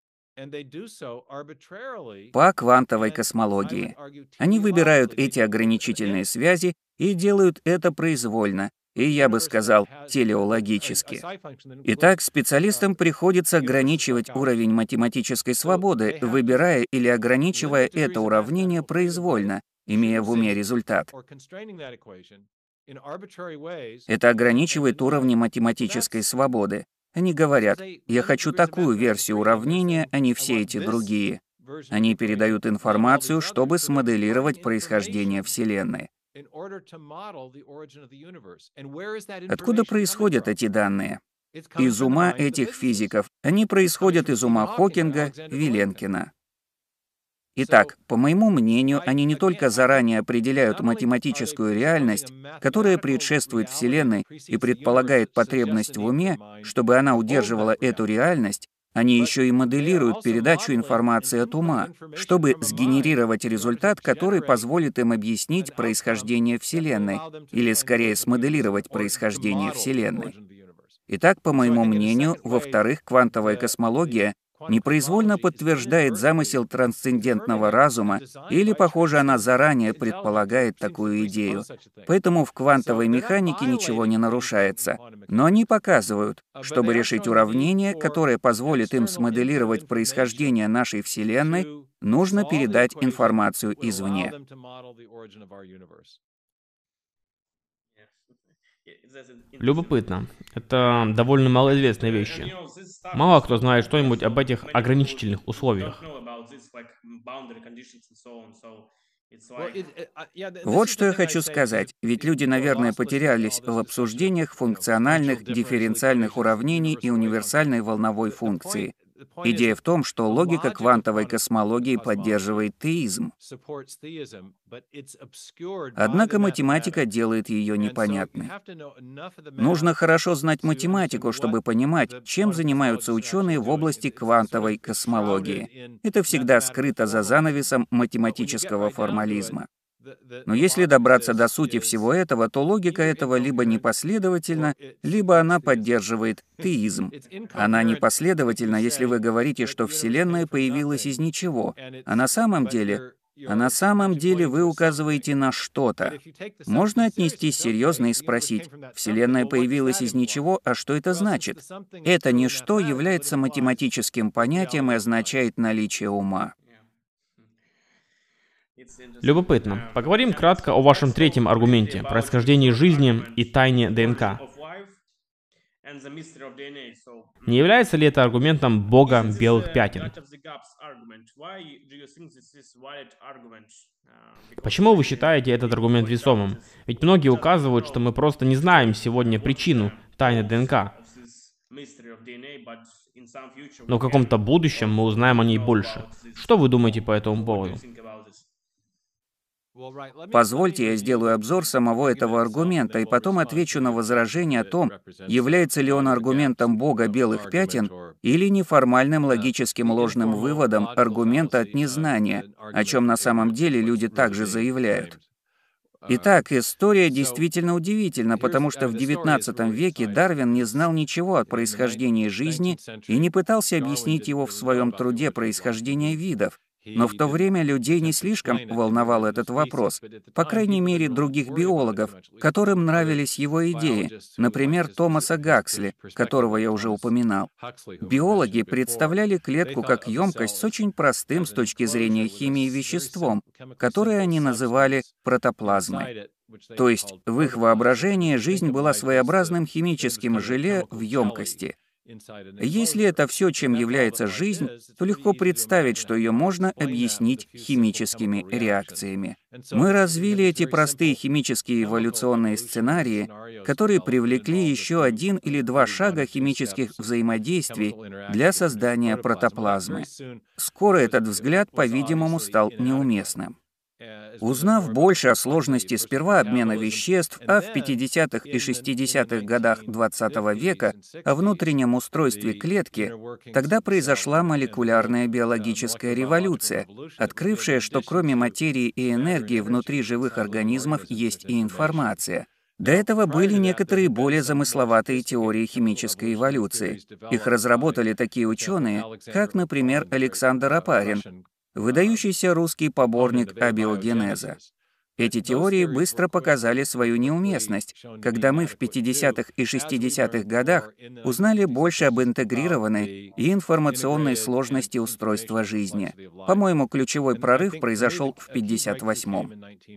по квантовой космологии. Они выбирают эти ограничительные связи и делают это произвольно, и, я бы сказал, телеологически. Итак, специалистам приходится ограничивать уровень математической свободы, выбирая или ограничивая это уравнение произвольно, имея в уме результат. Это ограничивает уровни математической свободы. Они говорят: я хочу такую версию уравнения, а не все эти другие. Они передают информацию, чтобы смоделировать происхождение Вселенной. Откуда происходят эти данные? Из ума этих физиков. Они происходят из ума Хокинга, Виленкина. Итак, по моему мнению, они не только заранее определяют математическую реальность, которая предшествует Вселенной и предполагает потребность в уме, чтобы она удерживала эту реальность, они еще и моделируют передачу информации от ума, чтобы сгенерировать результат, который позволит им объяснить происхождение Вселенной, или скорее смоделировать происхождение Вселенной. Итак, по моему мнению, во-вторых, квантовая космология непроизвольно подтверждает замысел трансцендентного разума, или, похоже, она заранее предполагает такую идею. Поэтому в квантовой механике ничего не нарушается. Но они показывают, чтобы решить уравнение, которое позволит им смоделировать происхождение нашей Вселенной, нужно передать информацию извне. Любопытно. Это довольно малоизвестные вещи. Мало кто знает что-нибудь об этих ограничительных условиях. Вот что я хочу сказать, ведь люди, наверное, потерялись в обсуждениях функциональных дифференциальных уравнений и универсальной волновой функции. Идея в том, что логика квантовой космологии поддерживает теизм. Однако математика делает ее непонятной. Нужно хорошо знать математику, чтобы понимать, чем занимаются ученые в области квантовой космологии. Это всегда скрыто за занавесом математического формализма. Но если добраться до сути всего этого, то логика этого либо непоследовательна, либо она поддерживает теизм. Она непоследовательна, если вы говорите, что Вселенная появилась из ничего, а на самом деле вы указываете на что-то. Можно отнестись серьезно и спросить: Вселенная появилась из ничего, а что это значит? Это ничто является математическим понятием и означает наличие ума. Любопытно. Поговорим кратко о вашем третьем аргументе — происхождении жизни и тайне ДНК. Не является ли это аргументом бога белых пятен? Почему вы считаете этот аргумент весомым? Ведь многие указывают, что мы просто не знаем сегодня причину тайны ДНК. Но в каком-то будущем мы узнаем о ней больше. Что вы думаете по этому поводу? Позвольте, я сделаю обзор самого этого аргумента и потом отвечу на возражение о том, является ли он аргументом бога белых пятен или неформальным логическим ложным выводом аргумента от незнания, о чем на самом деле люди также заявляют. Итак, история действительно удивительна, потому что в XIX веке Дарвин не знал ничего о происхождении жизни и не пытался объяснить его в своем труде «Происхождение видов». Но в то время людей не слишком волновал этот вопрос, по крайней мере, других биологов, которым нравились его идеи, например, Томаса Гаксли, которого я уже упоминал. Биологи представляли клетку как емкость с очень простым с точки зрения химии веществом, которое они называли протоплазмой. То есть в их воображении жизнь была своеобразным химическим желе в емкости. Если это все, чем является жизнь, то легко представить, что ее можно объяснить химическими реакциями. Мы развили эти простые химические эволюционные сценарии, которые привлекли еще один или два шага химических взаимодействий для создания протоплазмы. Скоро этот взгляд, по-видимому, стал неуместным. Узнав больше о сложности сперва обмена веществ, а в 50-х и 60-х годах XX века о внутреннем устройстве клетки, тогда произошла молекулярная биологическая революция, открывшая, что кроме материи и энергии внутри живых организмов есть и информация. До этого были некоторые более замысловатые теории химической эволюции. Их разработали такие ученые, как, например, Александр Опарин, выдающийся русский поборник абиогенеза. Эти теории быстро показали свою неуместность, когда мы в 50-х и 60-х годах узнали больше об интегрированной и информационной сложности устройства жизни. По-моему, ключевой прорыв произошел в 58-м.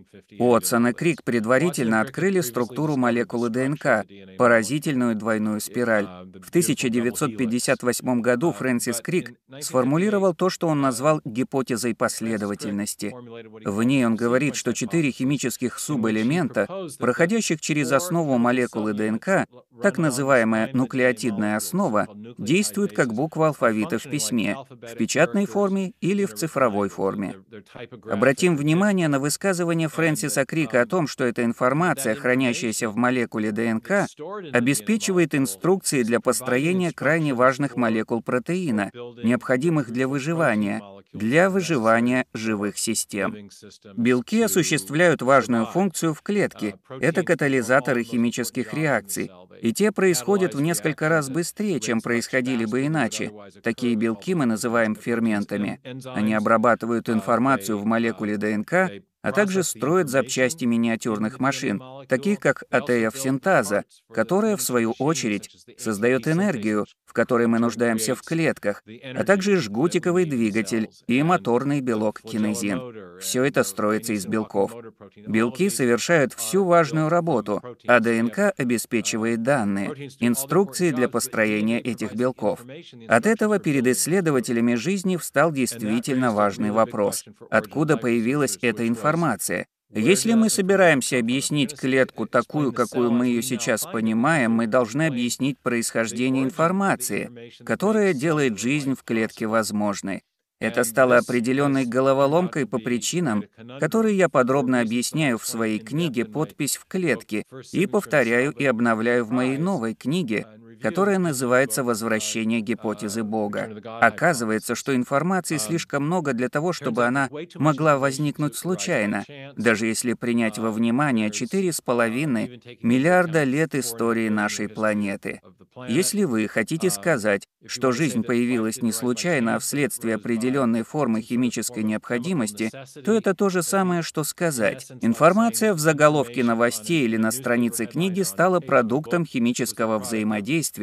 Уотсон и Крик предварительно открыли структуру молекулы ДНК, поразительную двойную спираль. В 1958 году Фрэнсис Крик сформулировал то, что он назвал гипотезой последовательности. В ней он говорит, что 4 химических субэлемента, проходящих через основу молекулы ДНК, так называемая нуклеотидная основа, действуют как буква алфавита в письме, в печатной форме или в цифровой форме. Обратим внимание на высказывание Фрэнсиса Крика о том, что эта информация, хранящаяся в молекуле ДНК, обеспечивает инструкции для построения крайне важных молекул протеина, необходимых для выживания живых систем. Белки осуществляют важную функцию в клетке. Это катализаторы химических реакций. И те происходят в несколько раз быстрее, чем происходили бы иначе. Такие белки мы называем ферментами. Они обрабатывают информацию в молекуле ДНК, а также строят запчасти миниатюрных машин, таких как АТФ-синтаза, которая, в свою очередь, создает энергию, в которой мы нуждаемся в клетках, а также жгутиковый двигатель и моторный белок кинезин. Все это строится из белков. Белки совершают всю важную работу, а ДНК обеспечивает данные, инструкции для построения этих белков. От этого перед исследователями жизни встал действительно важный вопрос: откуда появилась эта информация? Если мы собираемся объяснить клетку такую, какую мы ее сейчас понимаем, мы должны объяснить происхождение информации, которая делает жизнь в клетке возможной. Это стало определенной головоломкой по причинам, которые я подробно объясняю в своей книге «Подпись в клетке» и повторяю и обновляю в моей новой книге, которая называется «Возвращение гипотезы Бога». Оказывается, что информации слишком много для того, чтобы она могла возникнуть случайно, даже если принять во внимание 4,5 миллиарда лет истории нашей планеты. Если вы хотите сказать, что жизнь появилась не случайно, а вследствие определенной формы химической необходимости, то это то же самое, что сказать: информация в заголовке новостей или на странице книги стала продуктом химического взаимодействия,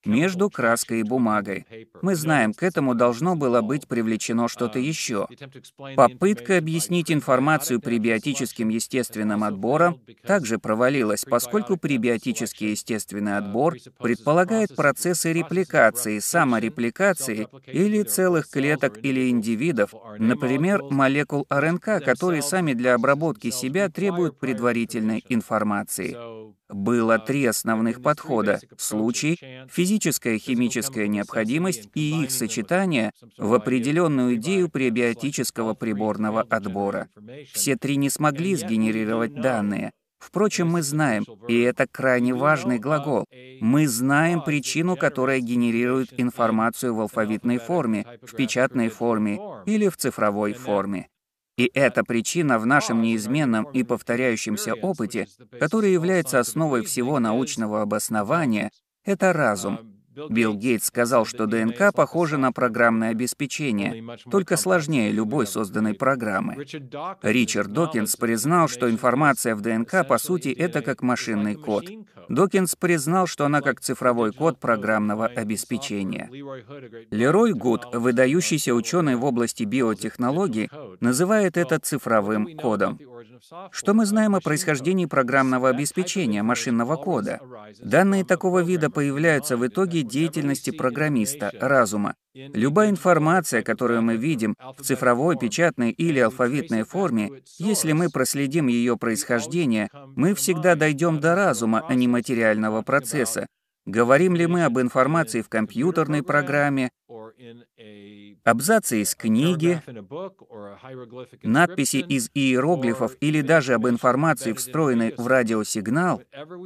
между краской и бумагой. Мы знаем, к этому должно было быть привлечено что-то еще. Попытка объяснить информацию пребиотическим естественным отбором также провалилась, поскольку пребиотический естественный отбор предполагает процессы репликации, саморепликации или целых клеток или индивидов, например, молекул РНК, которые сами для обработки себя требуют предварительной информации. Было три основных подхода: случай, физическая и химическая необходимость и их сочетание в определенную идею пребиотического приборного отбора. Все три не смогли сгенерировать данные. Впрочем, мы знаем, и это крайне важный глагол, мы знаем причину, которая генерирует информацию в алфавитной форме, в печатной форме или в цифровой форме. И эта причина в нашем неизменном и повторяющемся опыте, который является основой всего научного обоснования, это разум. Билл Гейтс сказал, что ДНК похожа на программное обеспечение, только сложнее любой созданной программы. Ричард Докинс признал, что информация в ДНК, по сути, это как машинный код. Докинс признал, что она как цифровой код программного обеспечения. Лерой Гуд, выдающийся ученый в области биотехнологий, называет это цифровым кодом. Что мы знаем о происхождении программного обеспечения, машинного кода? Данные такого вида появляются в итоге деятельности программиста, разума. Любая информация, которую мы видим в цифровой, печатной или алфавитной форме, если мы проследим ее происхождение, мы всегда дойдем до разума, а не материального процесса. Говорим ли мы об информации в компьютерной программе, абзаце из книги, надписи из иероглифов или даже об информации, встроенной в радиосигнал?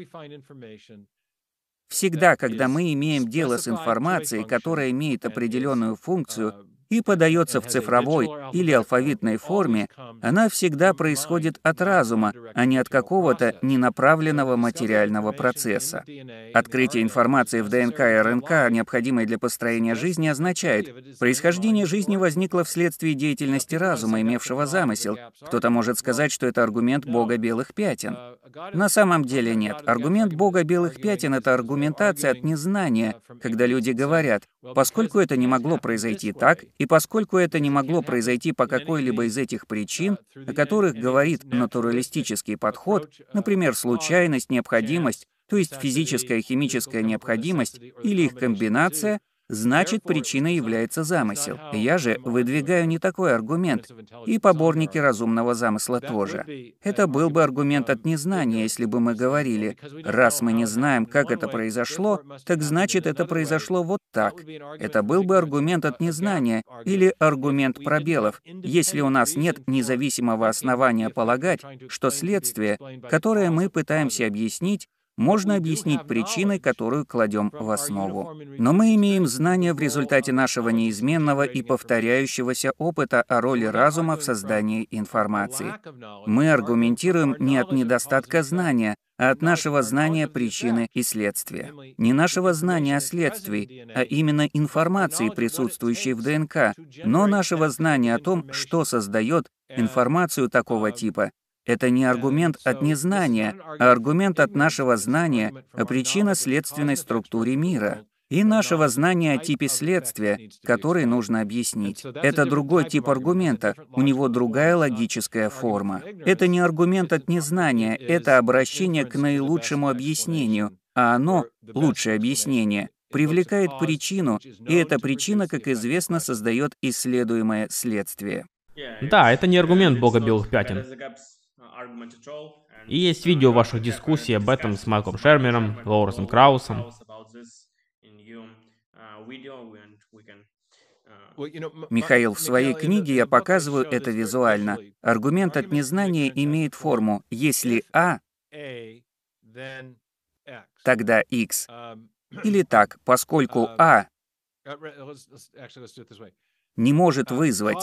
Всегда, когда мы имеем дело с информацией, которая имеет определенную функцию и подается в цифровой или алфавитной форме, она всегда происходит от разума, а не от какого-то ненаправленного материального процесса. Открытие информации в ДНК и РНК, необходимой для построения жизни, означает, происхождение жизни возникло вследствие деятельности разума, имевшего замысел. Кто-то может сказать, что это аргумент Бога белых пятен. На самом деле нет. Аргумент Бога белых пятен — это аргументация от незнания, когда люди говорят, поскольку это не могло произойти так, и поскольку это не могло произойти по какой-либо из этих причин, о которых говорит натуралистический подход, например, случайность, необходимость, то есть физическая и химическая необходимость или их комбинация, значит, причиной является замысел. Я же выдвигаю не такой аргумент, и поборники разумного замысла тоже. Это был бы аргумент от незнания, если бы мы говорили, раз мы не знаем, как это произошло, так значит, это произошло вот так. Это был бы аргумент от незнания или аргумент пробелов, если у нас нет независимого основания полагать, что следствие, которое мы пытаемся объяснить, можно объяснить причиной, которую кладем в основу. Но мы имеем знания в результате нашего неизменного и повторяющегося опыта о роли разума в создании информации. Мы аргументируем не от недостатка знания, а от нашего знания причины и следствия. Не нашего знания о следствии, а именно информации, присутствующей в ДНК, но нашего знания о том, что создает информацию такого типа. Это не аргумент от незнания, а аргумент от нашего знания о причинно-следственной структуре мира и нашего знания о типе следствия, который нужно объяснить. Это другой тип аргумента, у него другая логическая форма. Это не аргумент от незнания, это обращение к наилучшему объяснению, а оно, лучшее объяснение, привлекает причину, и эта причина, как известно, создает исследуемое следствие. Да, это не аргумент Бога белых пятен. И есть видео ваших дискуссий об этом с Майклом Шермером, Лоуренсом Краусом. Михаил, в своей книге я показываю это визуально. Аргумент от незнания имеет форму «если А, тогда X». Или так, поскольку А не может вызвать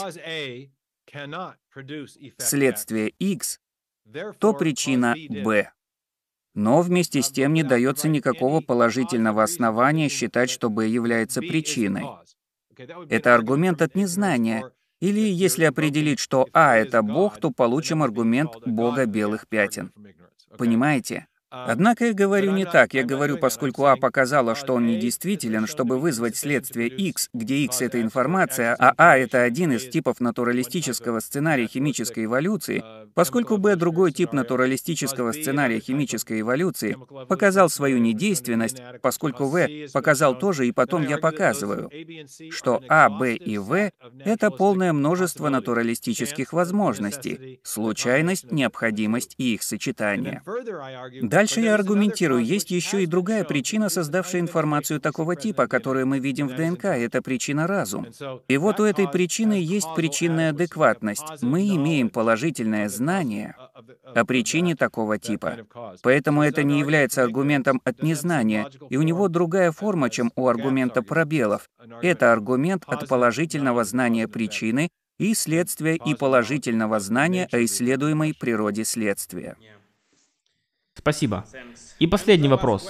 следствие X, то причина Б. Но вместе с тем не дается никакого положительного основания считать, что Б является причиной. Это аргумент от незнания. Или если определить, что А — это Бог, то получим аргумент Бога белых пятен. Понимаете? Однако я говорю не так. Я говорю, поскольку А показала, что он недействителен, чтобы вызвать следствие X, где X — это информация, а А — это один из типов натуралистического сценария химической эволюции, поскольку Б — другой тип натуралистического сценария химической эволюции, показал свою недейственность, поскольку В показал тоже, и потом я показываю, что А, Б и В — это полное множество натуралистических возможностей, случайность, необходимость и их сочетание. Дальше я аргументирую, есть еще и другая причина, создавшая информацию такого типа, которую мы видим в ДНК, это причина разум. И вот у этой причины есть причинная адекватность. Мы имеем положительное знание о причине такого типа. Поэтому это не является аргументом от незнания, и у него другая форма, чем у аргумента пробелов. Это аргумент от положительного знания причины и следствия и положительного знания о исследуемой природе следствия. Спасибо. И последний вопрос.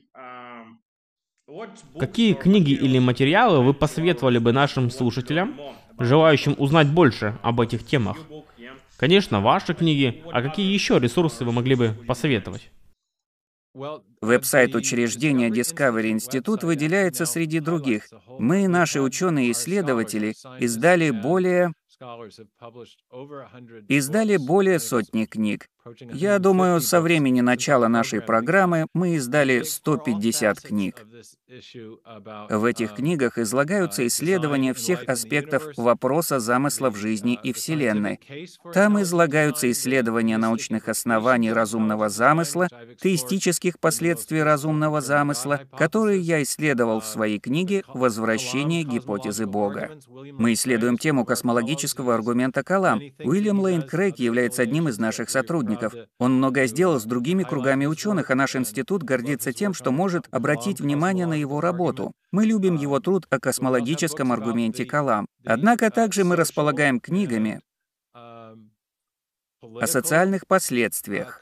Какие книги или материалы вы посоветовали бы нашим слушателям, желающим узнать больше об этих темах? Конечно, ваши книги, а какие еще ресурсы вы могли бы посоветовать? Веб-сайт учреждения Discovery Institute выделяется среди других. Мы, наши ученые-исследователи, издали более сотни книг. Я думаю, со времени начала нашей программы мы издали 150 книг. В этих книгах излагаются исследования всех аспектов вопроса замыслов жизни и Вселенной. Там излагаются исследования научных оснований разумного замысла, теистических последствий разумного замысла, которые я исследовал в своей книге «Возвращение гипотезы Бога». Мы исследуем тему космологического аргумента Калам. Уильям Лейн Крейг является одним из наших сотрудников. Он многое сделал с другими кругами ученых, а наш институт гордится тем, что может обратить внимание на его работу. Мы любим его труд о космологическом аргументе Калам. Однако также мы располагаем книгами о социальных последствиях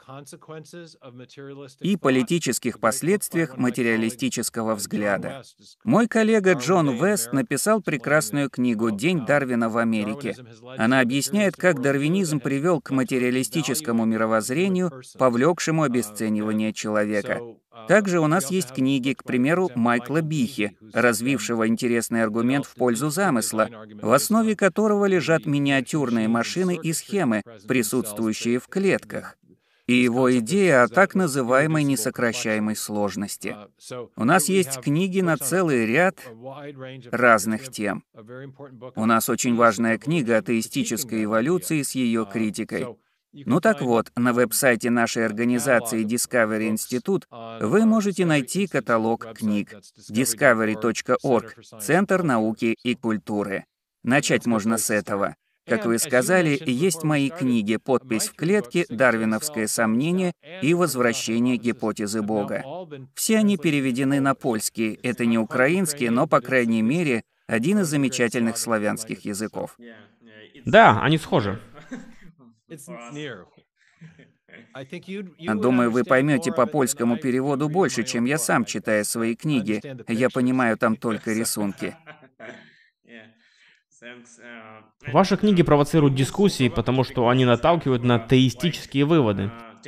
и политических последствиях материалистического взгляда. Мой коллега Джон Вест написал прекрасную книгу «День Дарвина в Америке». Она объясняет, как дарвинизм привел к материалистическому мировоззрению, повлекшему обесценивание человека. Также у нас есть книги, к примеру, Майкла Бихи, развившего интересный аргумент в пользу замысла, в основе которого лежат миниатюрные машины и схемы, присутствующие в клетках, и его идея о так называемой несокращаемой сложности. У нас есть книги на целый ряд разных тем. У нас очень важная книга о теистической эволюции с ее критикой. Ну так вот, на веб-сайте нашей организации Discovery Institute вы можете найти каталог книг discovery.org, Центр науки и культуры. Начать можно с этого. Как вы сказали, есть мои книги «Подпись в клетке», «Дарвиновское сомнение» и «Возвращение гипотезы Бога». Все они переведены на польский. Это не украинский, но, по крайней мере, один из замечательных славянских языков. Да, они схожи. Думаю, вы поймете по польскому переводу больше, чем я сам, читая свои книги. Я понимаю там только рисунки. Ваши книги провоцируют дискуссии, потому что они наталкивают на теистические выводы.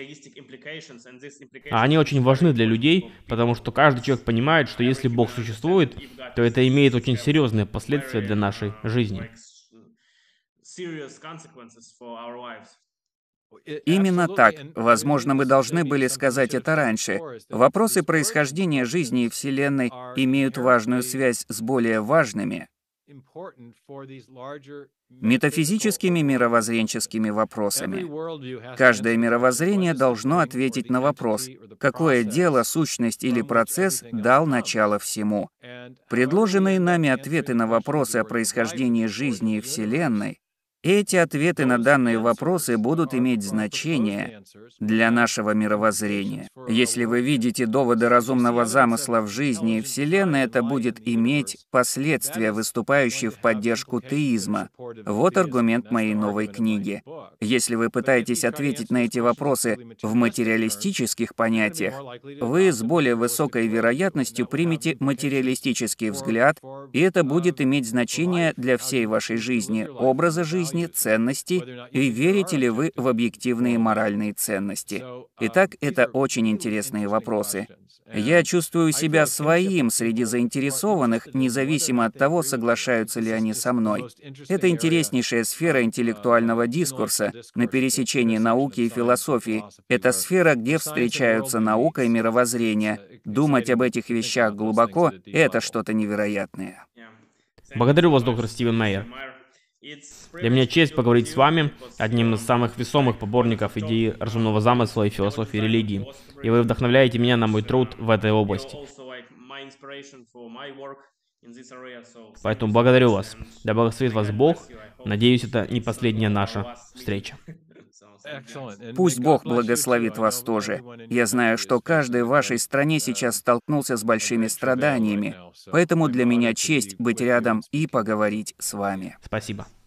А они очень важны для людей, потому что каждый человек понимает, что если Бог существует, то это имеет очень серьезные последствия для нашей жизни. Именно так. Возможно, мы должны были сказать это раньше. Вопросы происхождения жизни и Вселенной имеют важную связь с более важными метафизическими мировоззренческими вопросами. Каждое мировоззрение должно ответить на вопрос, какое дело, сущность или процесс дал начало всему. Предложенные нами ответы на вопросы о происхождении жизни и Вселенной, эти ответы на данные вопросы будут иметь значение для нашего мировоззрения. Если вы видите доводы разумного замысла в жизни и Вселенной, это будет иметь последствия, выступающие в поддержку теизма. Вот аргумент моей новой книги. Если вы пытаетесь ответить на эти вопросы в материалистических понятиях, вы с более высокой вероятностью примете материалистический взгляд И это будет иметь значение для всей вашей жизни, образа жизни, ценностей, и верите ли вы в объективные моральные ценности. Итак, это очень интересные вопросы. Я чувствую себя своим среди заинтересованных, независимо от того, соглашаются ли они со мной. Это интереснейшая сфера интеллектуального дискурса на пересечении науки и философии. Это сфера, где встречаются наука и мировоззрение. Думать об этих вещах глубоко — это что-то невероятное. Благодарю вас, доктор Стивен Мейер. Для меня честь поговорить с вами, одним из самых весомых поборников идеи разумного замысла и философии религии. И вы вдохновляете меня на мой труд в этой области. Поэтому благодарю вас. Да благословит вас Бог. Надеюсь, это не последняя наша встреча. Пусть Бог благословит вас тоже. Я знаю, что каждый в вашей стране сейчас столкнулся с большими страданиями, поэтому для меня честь быть рядом и поговорить с вами. Спасибо.